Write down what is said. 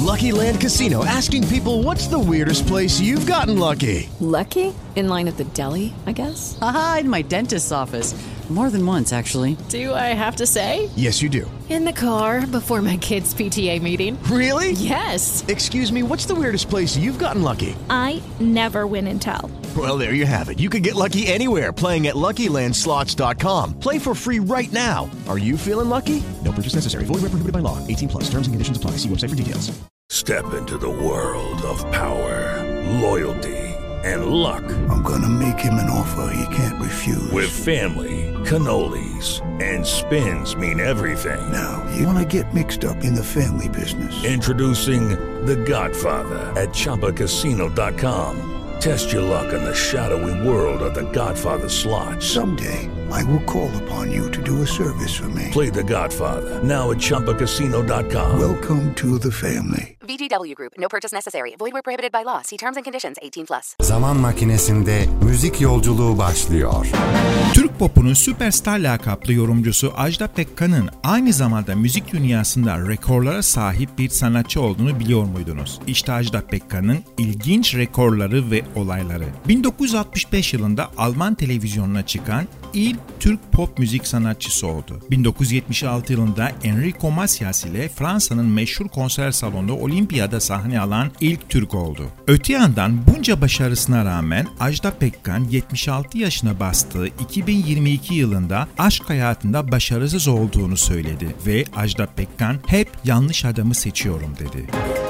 Lucky Land Casino, asking people, what's the weirdest place you've gotten lucky? Lucky? In line at the deli, I guess? Aha, in my dentist's office. More than once, actually. Do I have to say? Yes, you do. In the car before my kids' PTA meeting. Really? Yes. Excuse me, what's the weirdest place you've gotten lucky? I never win and tell. Well, there you have it. You can get lucky anywhere, playing at LuckyLandSlots.com. Play for free right now. Are you feeling lucky? No purchase necessary. Void where prohibited by law. 18 plus. Terms and conditions apply. See website for details. Step into the world of power, loyalty, and luck. I'm gonna make him an offer he can't refuse. With family, cannolis, and spins mean everything. Now, you wanna get mixed up in the family business. Introducing The Godfather at ChumbaCasino.com. Test your luck in the shadowy world of The Godfather slot. Someday, I will call upon you to do a service for me. Play The Godfather, now at ChumbaCasino.com. Welcome to the family. VGW Group. No purchase necessary. Void where prohibited by law. See terms and conditions. 18 plus. Zaman makinesinde müzik yolculuğu başlıyor. Türk popunun süperstar lakaplı yorumcusu Ajda Pekkan'ın aynı zamanda müzik dünyasında rekorlara sahip bir sanatçı olduğunu biliyor muydunuz? İşte Ajda Pekkan'ın ilginç rekorları ve olayları. 1965 yılında Alman televizyonuna çıkan ilk Türk pop müzik sanatçısı oldu. 1976 yılında Enrico Macias ile Fransa'nın meşhur konser salonunda Olimpiyada sahne alan ilk Türk oldu. Öte yandan bunca başarısına rağmen Ajda Pekkan 76 yaşına bastığı 2022 yılında aşk hayatında başarısız olduğunu söyledi ve Ajda Pekkan hep yanlış adamı seçiyorum dedi.